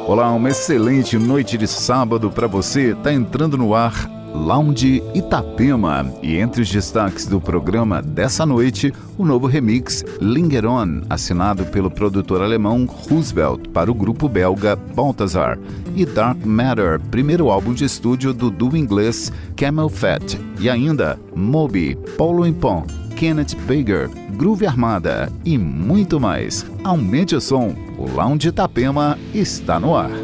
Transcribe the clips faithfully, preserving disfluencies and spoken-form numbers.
Olá, uma excelente noite de sábado para você. Tá entrando no ar Lounge Itapema. E entre os destaques do programa dessa noite, o novo remix Linger On, assinado pelo produtor alemão Roosevelt para o grupo belga Balthazar. E Dark Matter, primeiro álbum de estúdio do duo inglês Camel Fat. E ainda Moby, Paulo Impon, Kenneth Baker, Groove Armada e muito mais. Aumente o som, o Lounge Itapema está no ar.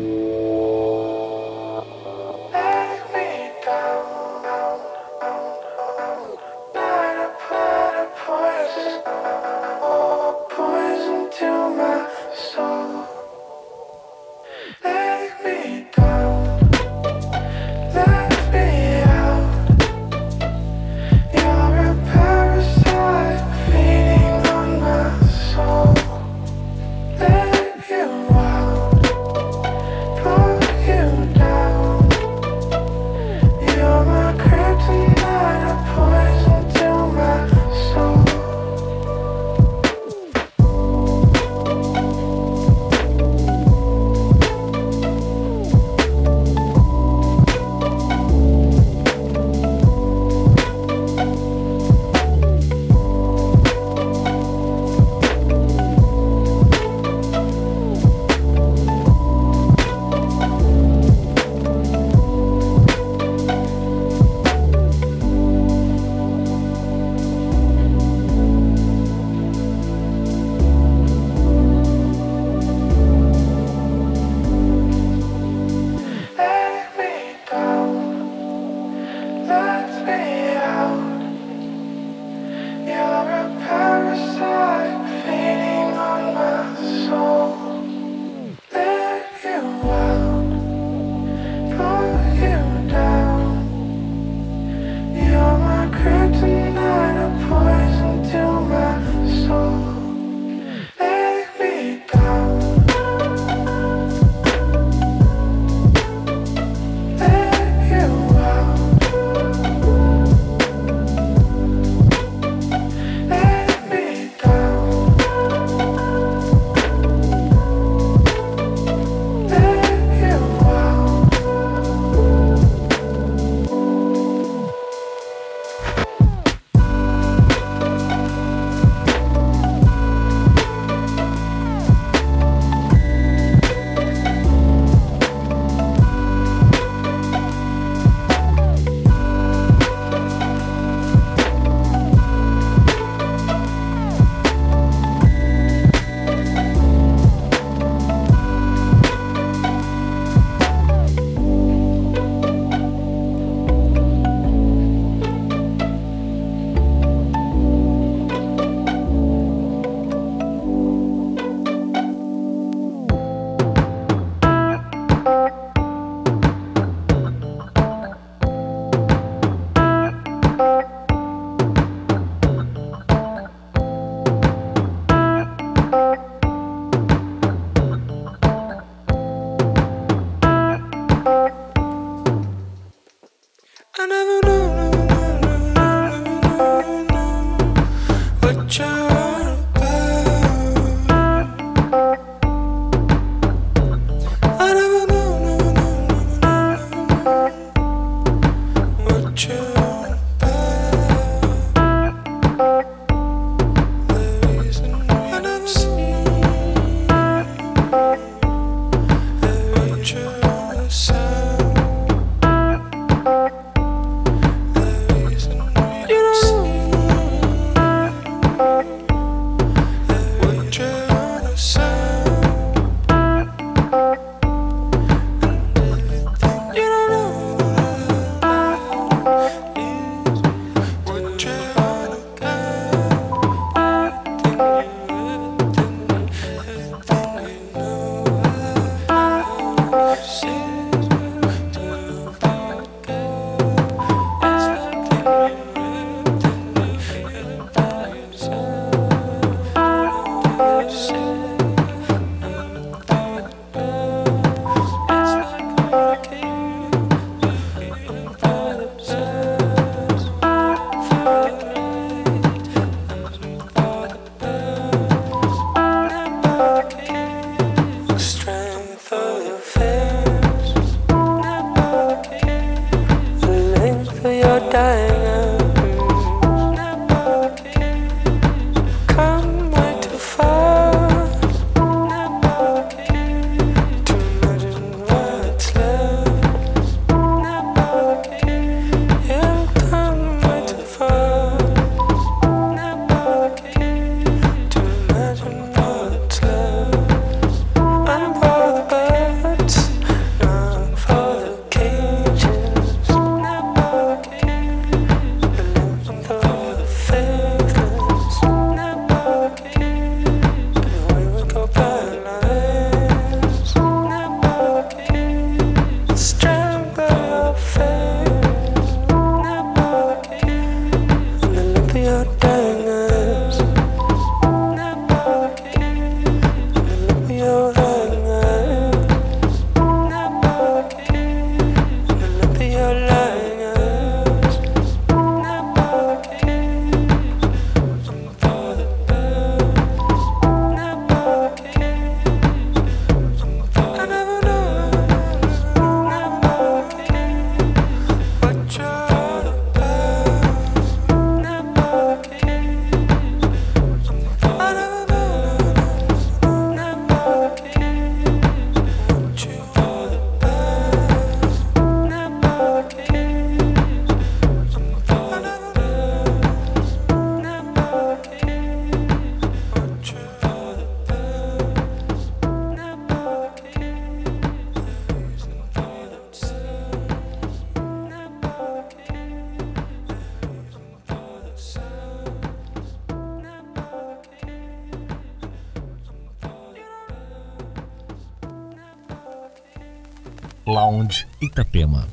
Lounge Itapema.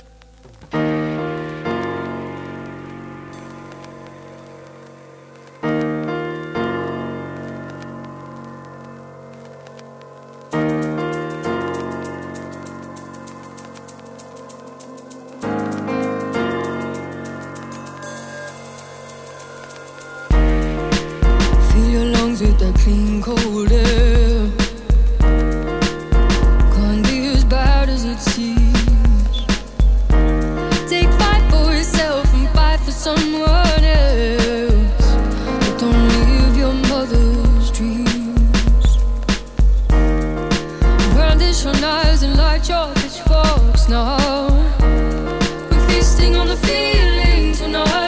With that clean cold air, can't be as bad as it seems. Take fight for yourself and fight for someone else, but don't live your mother's dreams. Brandish your knives and light your pitchforks now. We're feasting on the feeling tonight.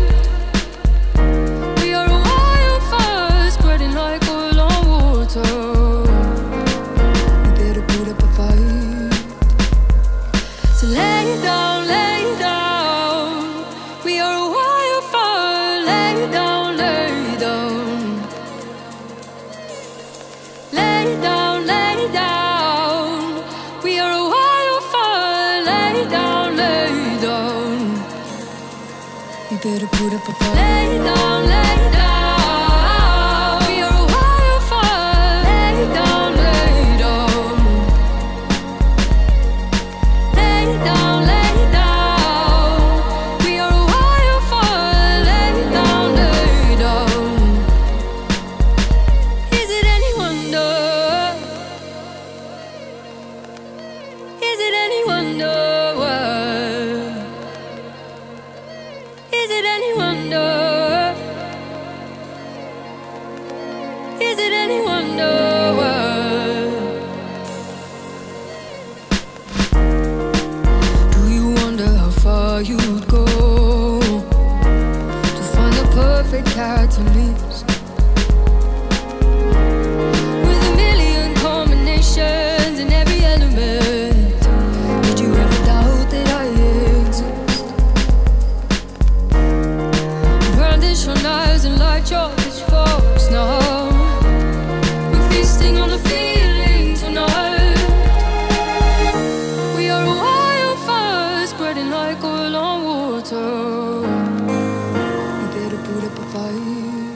Better put up a fight. Lay down, lay down. We are a wildfire. Lay down, lay down. Lay down, lay down. We are a wildfire. Lay down, lay down. Is it any wonder? Is it any wonder? Is it any wonder? Is it any wonder? Do you wonder how far you'd go to find the perfect catalyst? With a million combinations in every element, did you ever doubt that I exist? Brandish your knives and light your pitchforks now. We're feasting on the feeling tonight. We are a wildfire spreading like oil on water. We better put up a fight.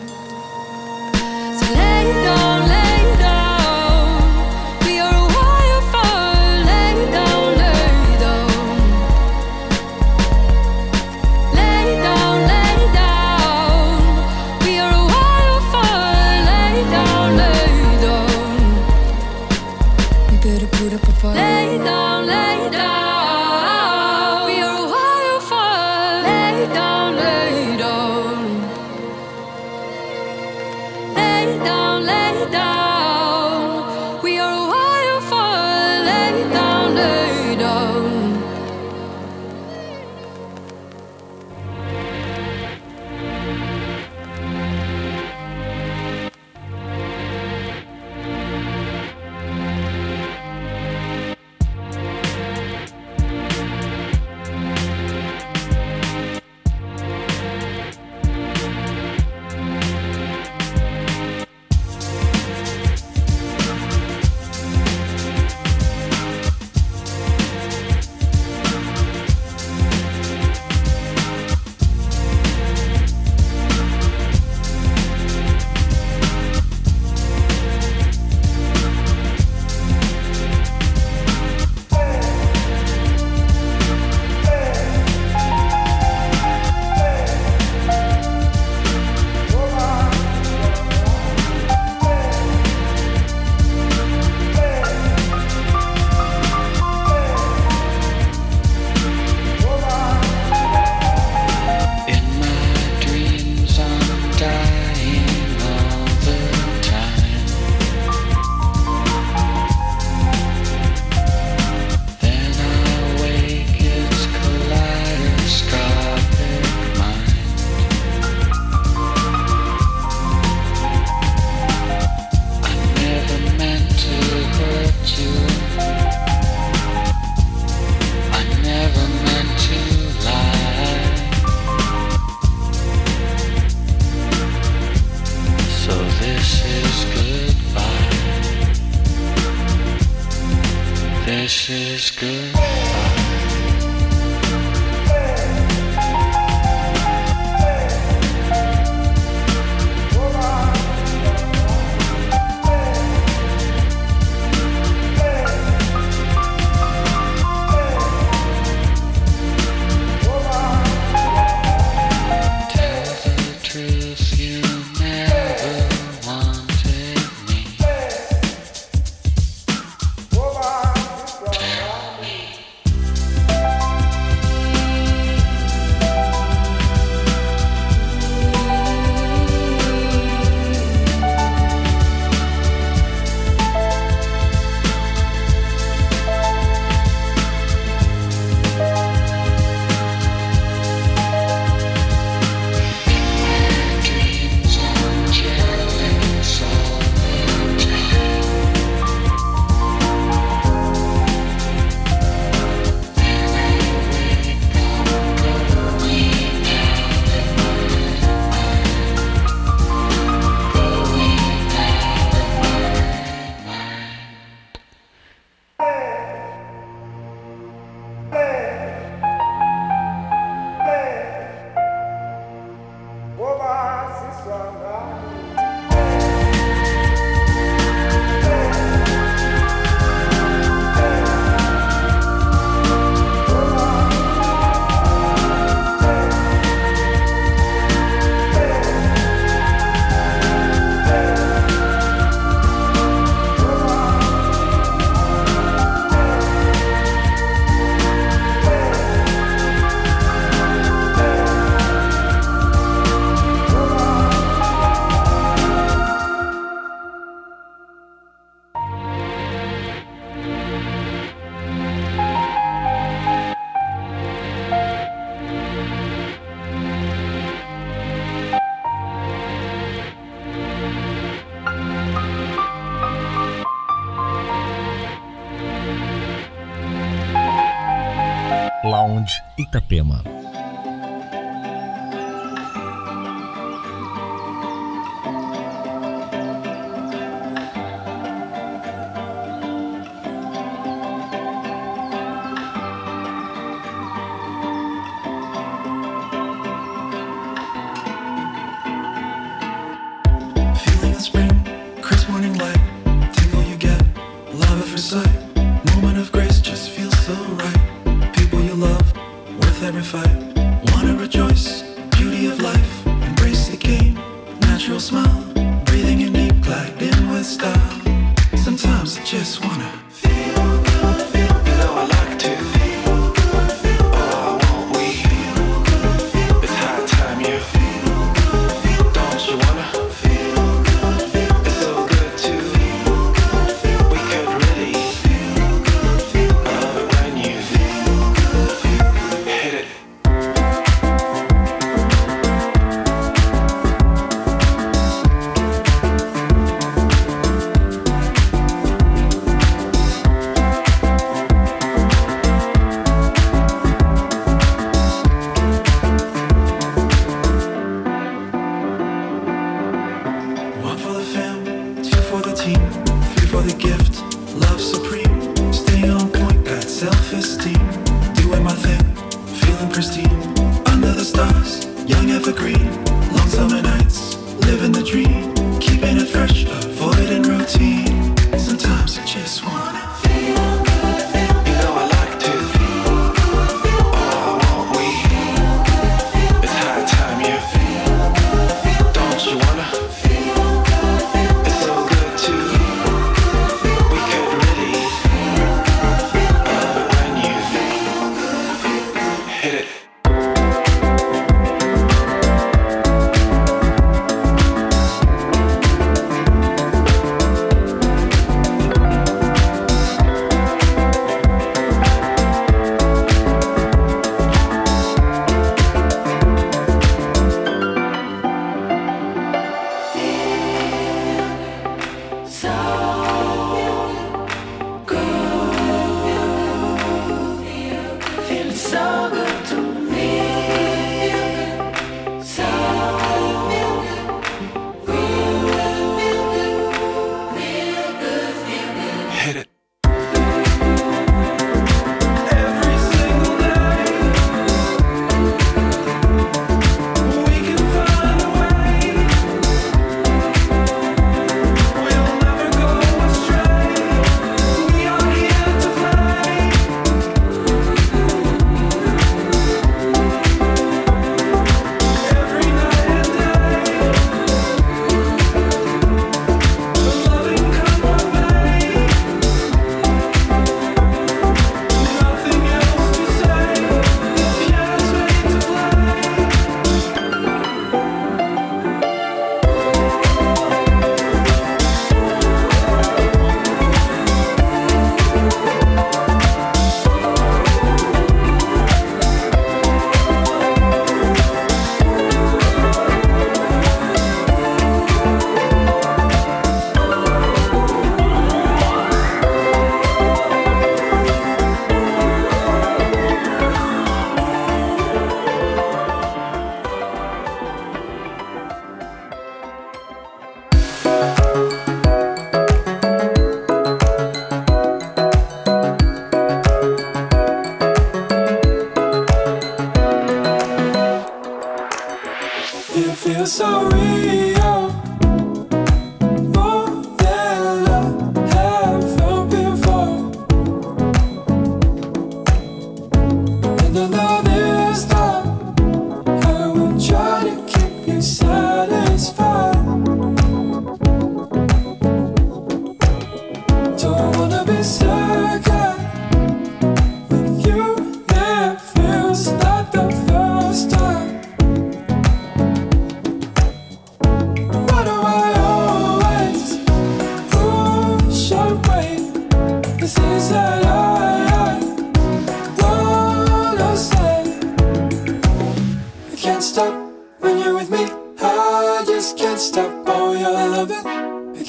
This is good. Lounge Itapema. Feeling of spring, crisp morning light, tingle you get, love at first sight, moment of grace just feels so right. You love, worth every fight. Wanna rejoice, beauty of life. Embrace the game, natural smile. Breathing in deep, glide in with style. Sometimes I just wanna feel good, feel good. You know I like to feel good, feel good. Oh, won't we feel good, feel good. It's high time you feel good, feel good. Don't you wanna feel good, feel good. It's so good to feel good, feel good. We could really feel good, feel good. I love it when you feel good. Hit it. One for the fam, two for the team, three for the gift, love supreme. Staying on point, got self-esteem. Doing my thing, feeling pristine. Under the stars, young evergreen. Long summer nights, living the dream. Keeping it fresh, avoiding routine. Sometimes I just wanna feel good, feel good. You know I like to feel good, feel good. Oh, won't we feel good, feel good. It's high time you feel good, feel good. Don't you wanna feel good, feel good. It's so good to feel good, feel good. We could really feel good, feel good. I love it when you feel good, feel good. Hit it.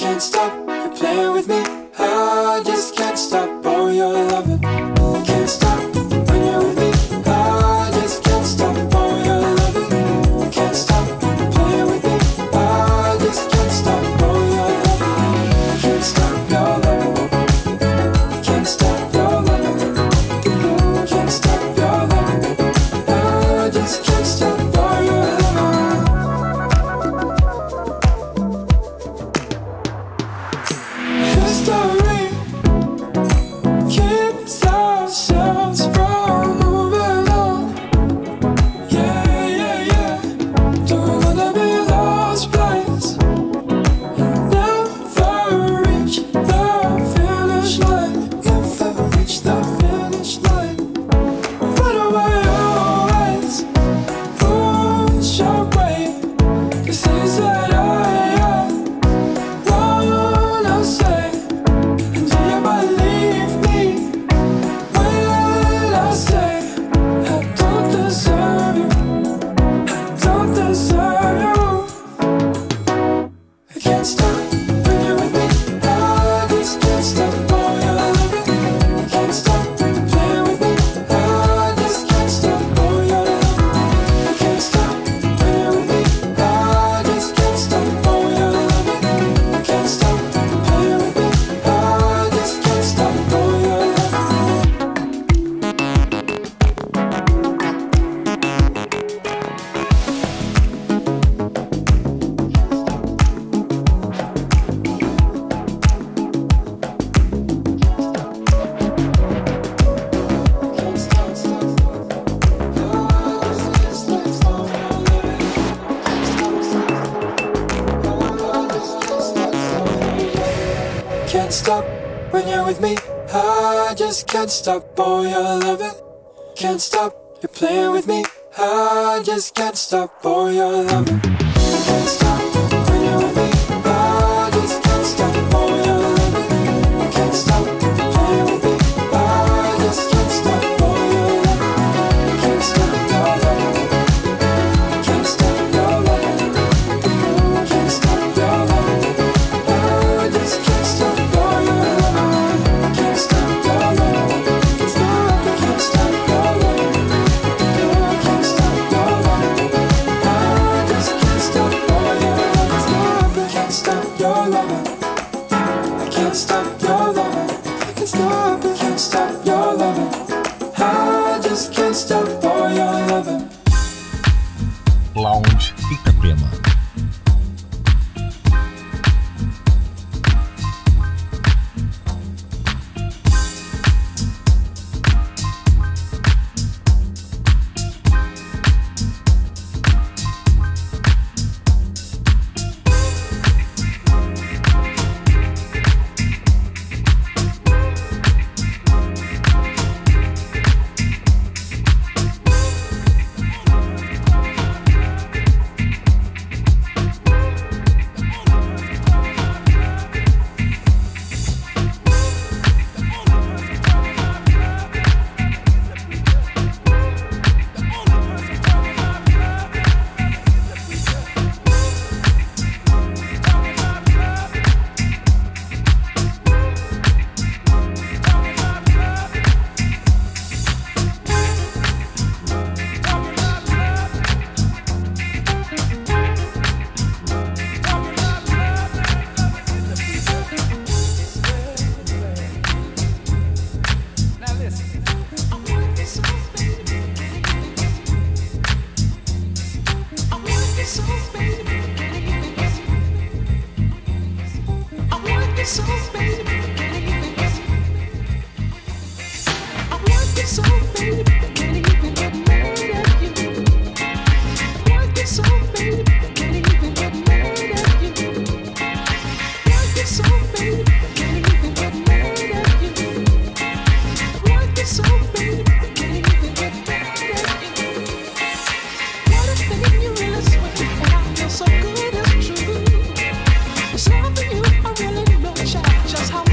can't stop, you're playing with me. I just can't stop, oh, you're loving. I can't stop when you're with me. I just can't stop, oh, you're loving. I can't stop, you're playing with me. I just can't stop, oh, you're loving. I can't stop, you're loving. I can't stop, you're loving. I can't stop, you're loving. I just can't stop, oh, you're loving. History keeps ourselves from moving on. Yeah, yeah, yeah. Don't wanna be lost place and never reach the finish line. Never reach the finish line. Run away always, push away the things that I wanna say. And do you believe me when I say I don't deserve you? I don't deserve you. I can't stop when you're with me. I just can't stop, oh, you're loving. I can't stop playing with me. I just can't stop, oh, you're loving. I can't stop when you're with me. I just can't stop, oh, you're loving. I can't stop playing with me. I just can't stop, oh, you're loving. Can't stop when you're with me. I just can't stop, oh, you're loving. Can't stop, you're playing with me. I just can't stop, oh, you're loving. I can't stop when you're with me. I just can't stop, oh, you're loving. I can't stop, you're playing with me. I just can't stop, oh, you're loving. I can't stop, you're loving. I can't stop, you're loving. I can't stop, you're loving. I just can't stop, oh, you're loving. I can't stop, you're loving. I can't stop, I can't stop, you're loving. I can't stop, you're loving. I just can't stop, oh, you're loving. I can't stop, you're loving. I can't stop, you're loving. I can't stop, I can't stop, you're loving. I just can't stop, oh, you're loving. Lounge Itapema. So good, it's true. There's something you I really know, child, just how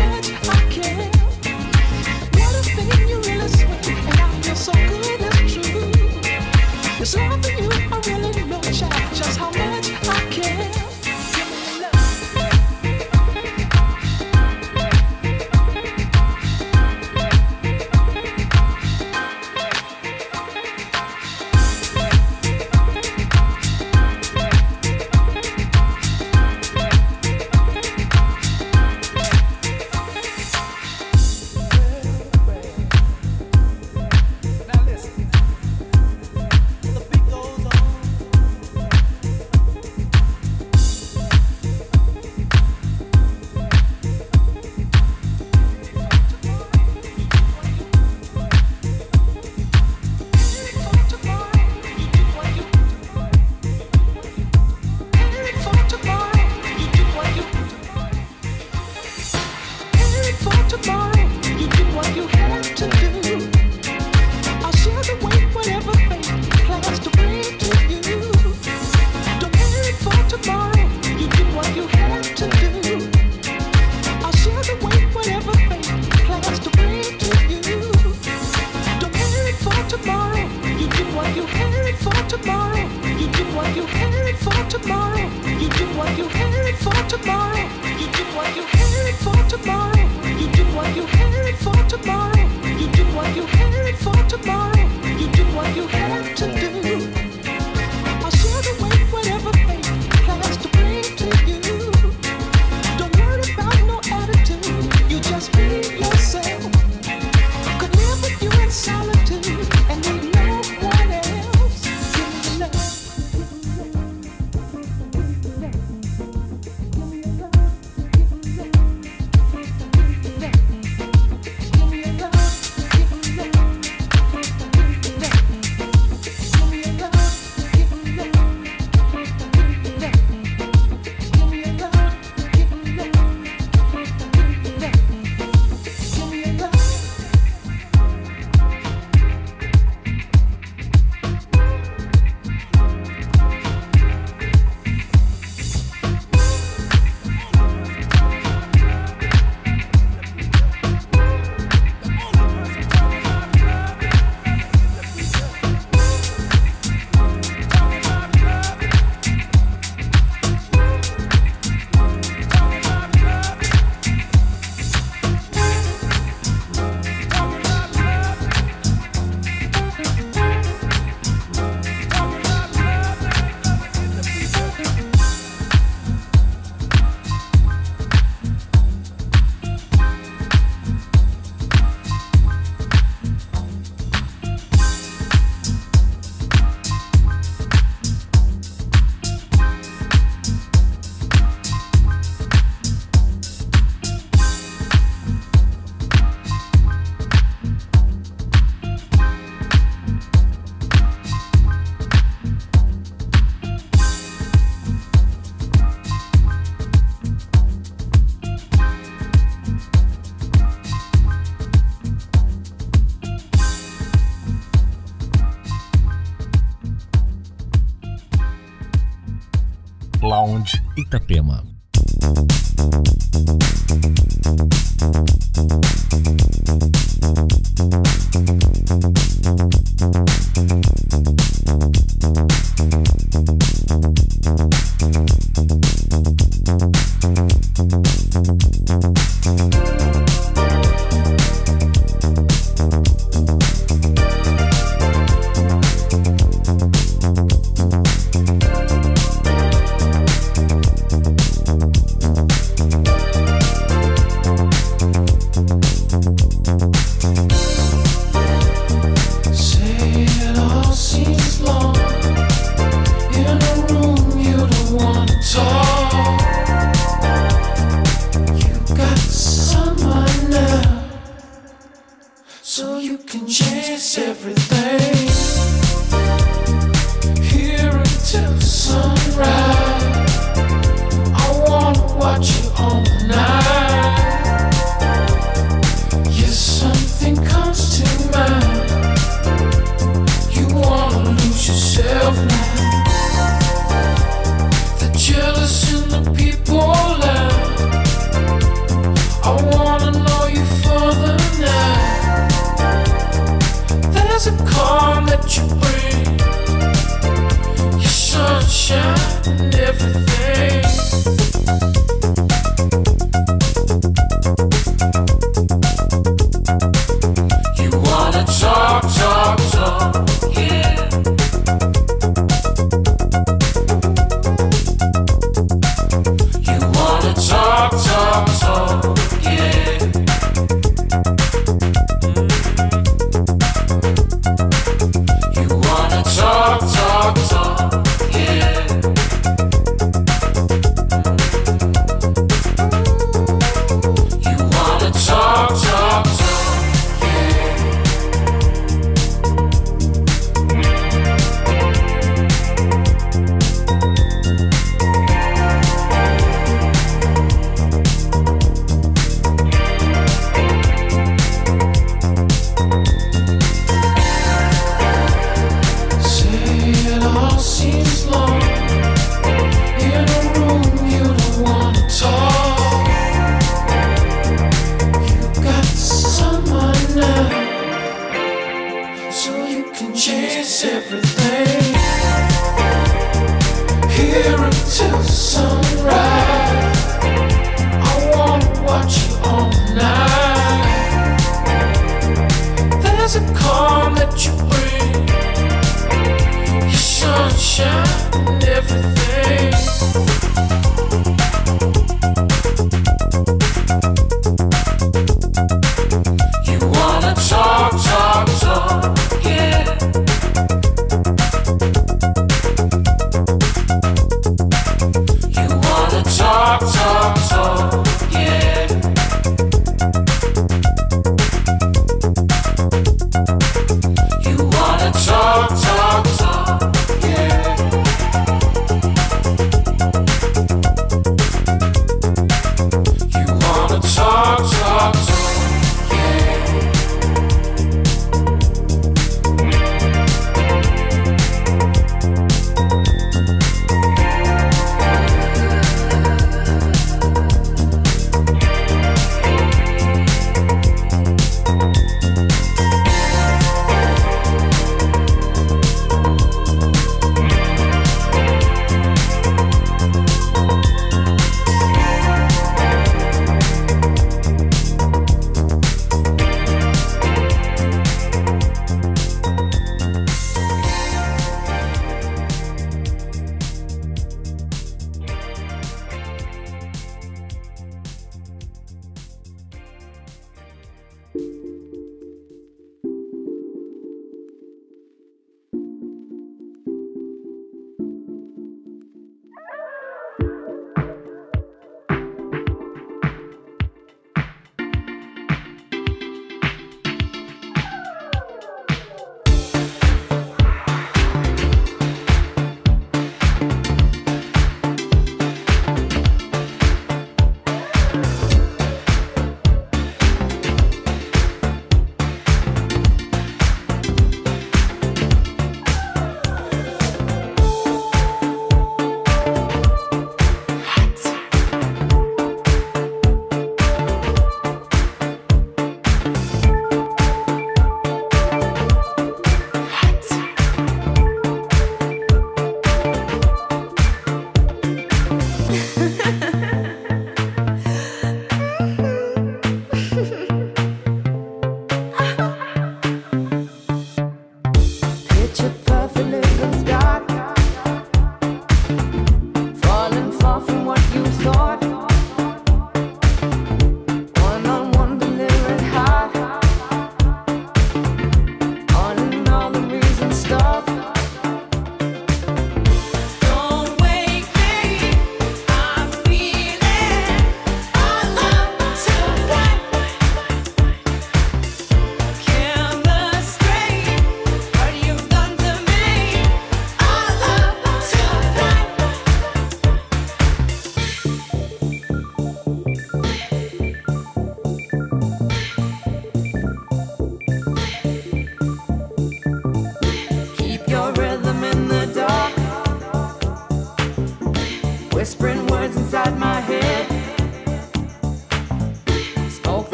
Lounge Itapema.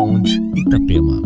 Lounge Itapema.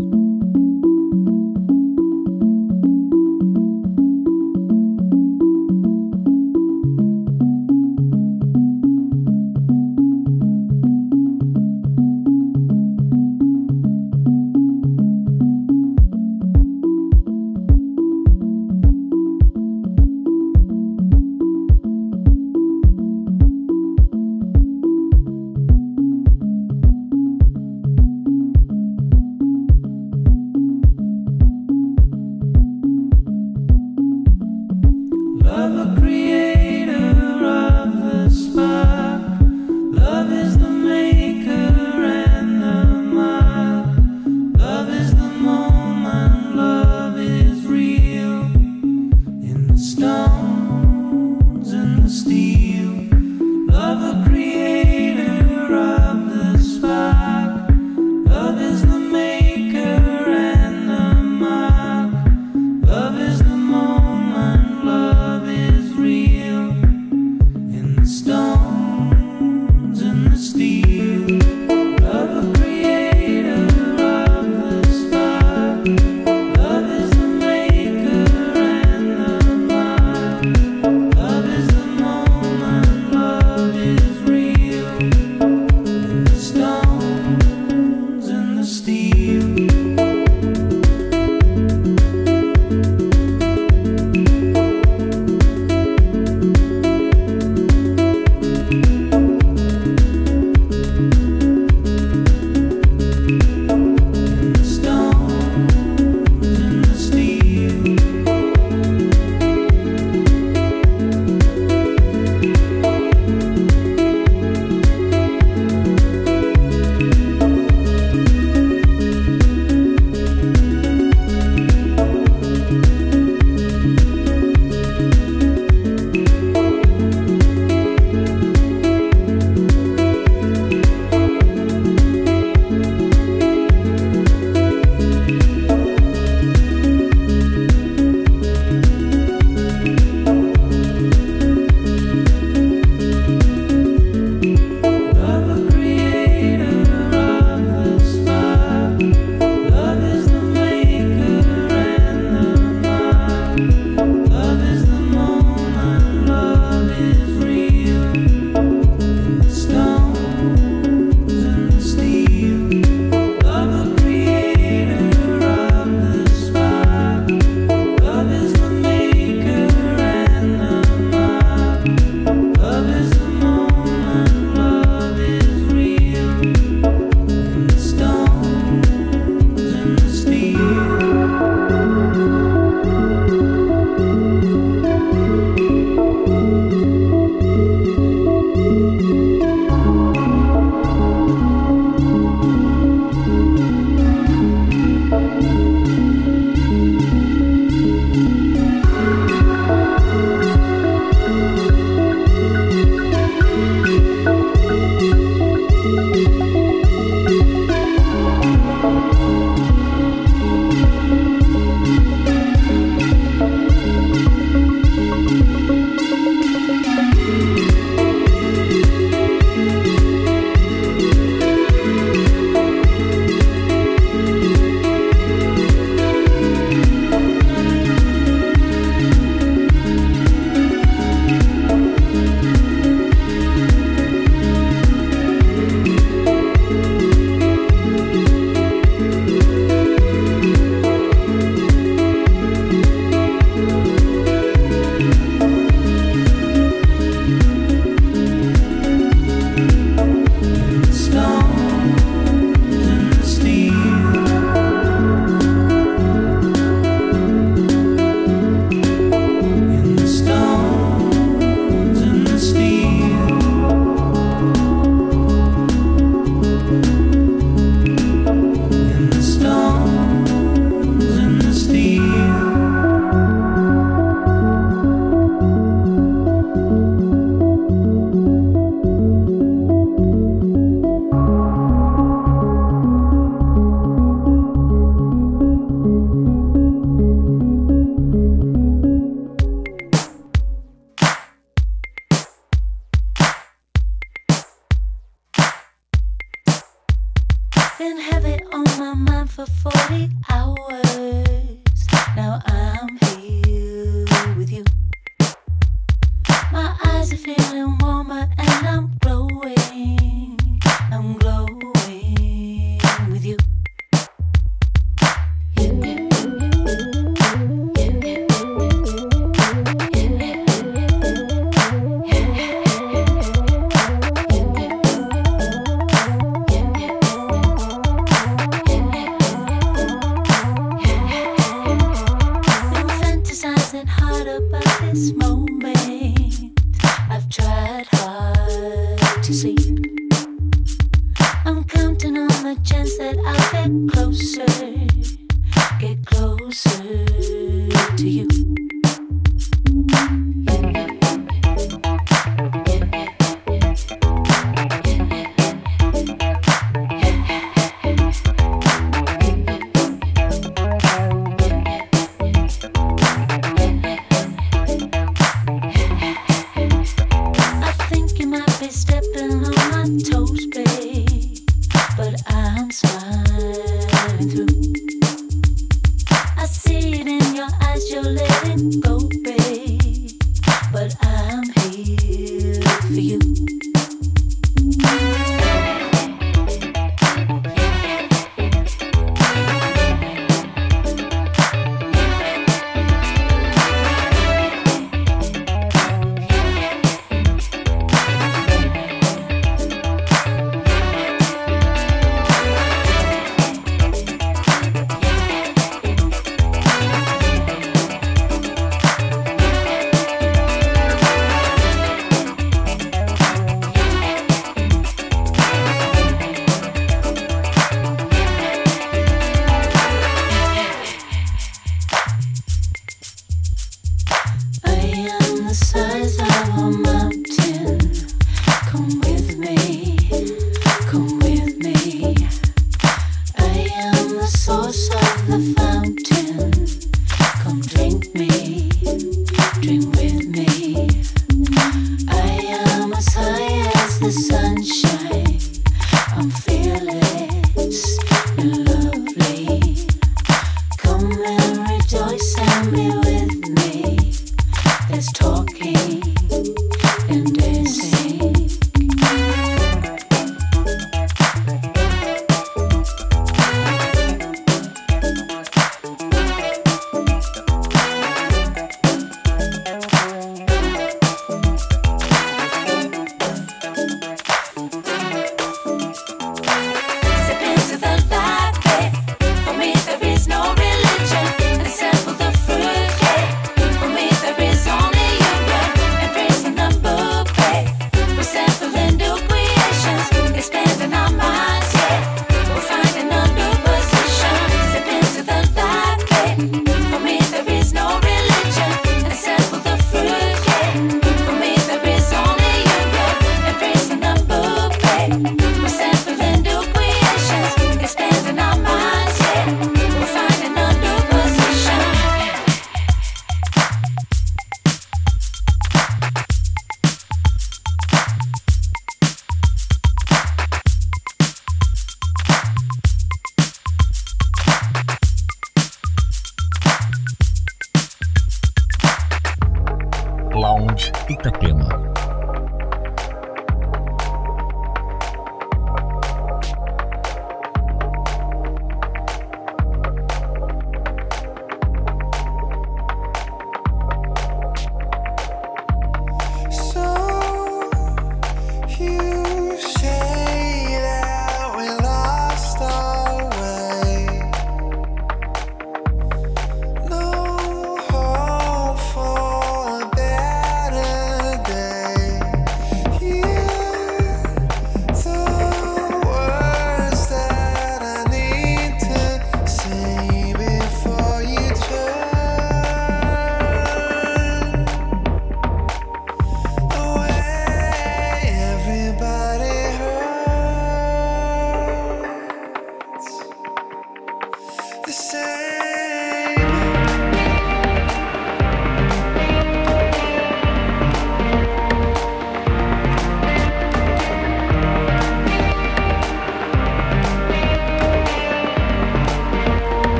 Lounge Itapema.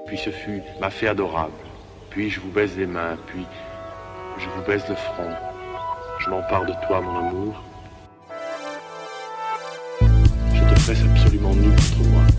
puis ce fut ma fée adorable. Puis je vous baise les mains, puis je vous baise le front. Je m'empare de toi, mon amour. Je te presse absolument nu contre moi.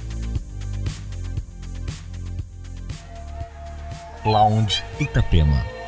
Lounge Itapema.